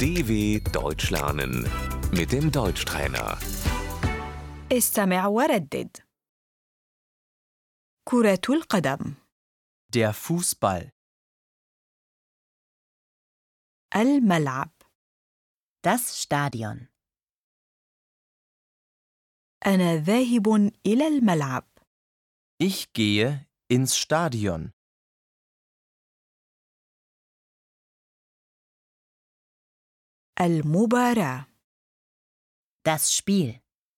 DW Deutsch lernen mit dem Deutschtrainer. استمع وردد. كرة القدم. Der Fußball. الملعب. Das Stadion. أنا ذاهب إلى الملعب. Ich gehe ins Stadion. المباراة. Das Spiel.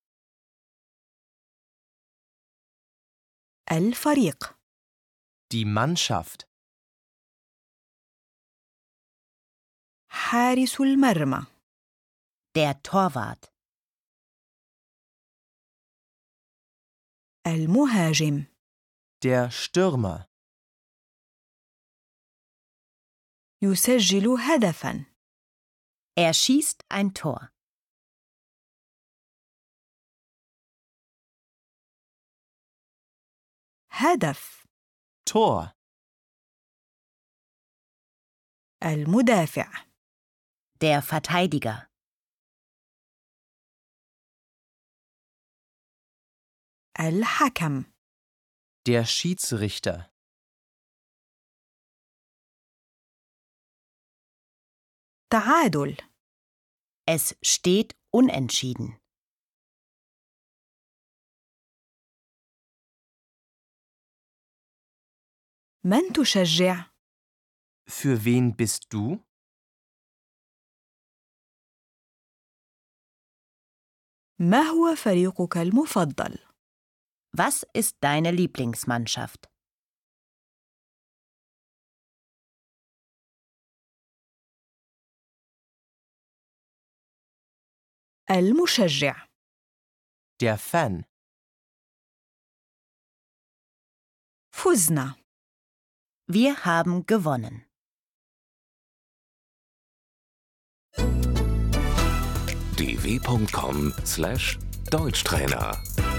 الفريق. Die Mannschaft. حارس المرمى. Der Torwart. المهاجم. Der Stürmer. يسجل هدفاً. Er schießt ein Tor. هدف. Tor. المدافع. Der Verteidiger. الحكم. Der Schiedsrichter. تعادل. Es steht unentschieden. من تشجع؟ Für wen bist du? ما هو فريقك المفضل؟ Was ist deine Lieblingsmannschaft? المشجع. Der Fan. فزنا. Wir haben gewonnen. dw.com/Deutschtrainer